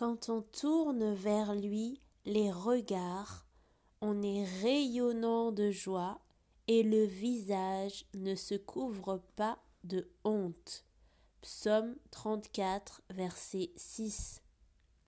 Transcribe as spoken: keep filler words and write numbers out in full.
Quand on tourne vers lui les regards, on est rayonnant de joie et le visage ne se couvre pas de honte. Psaume trente-quatre, verset six.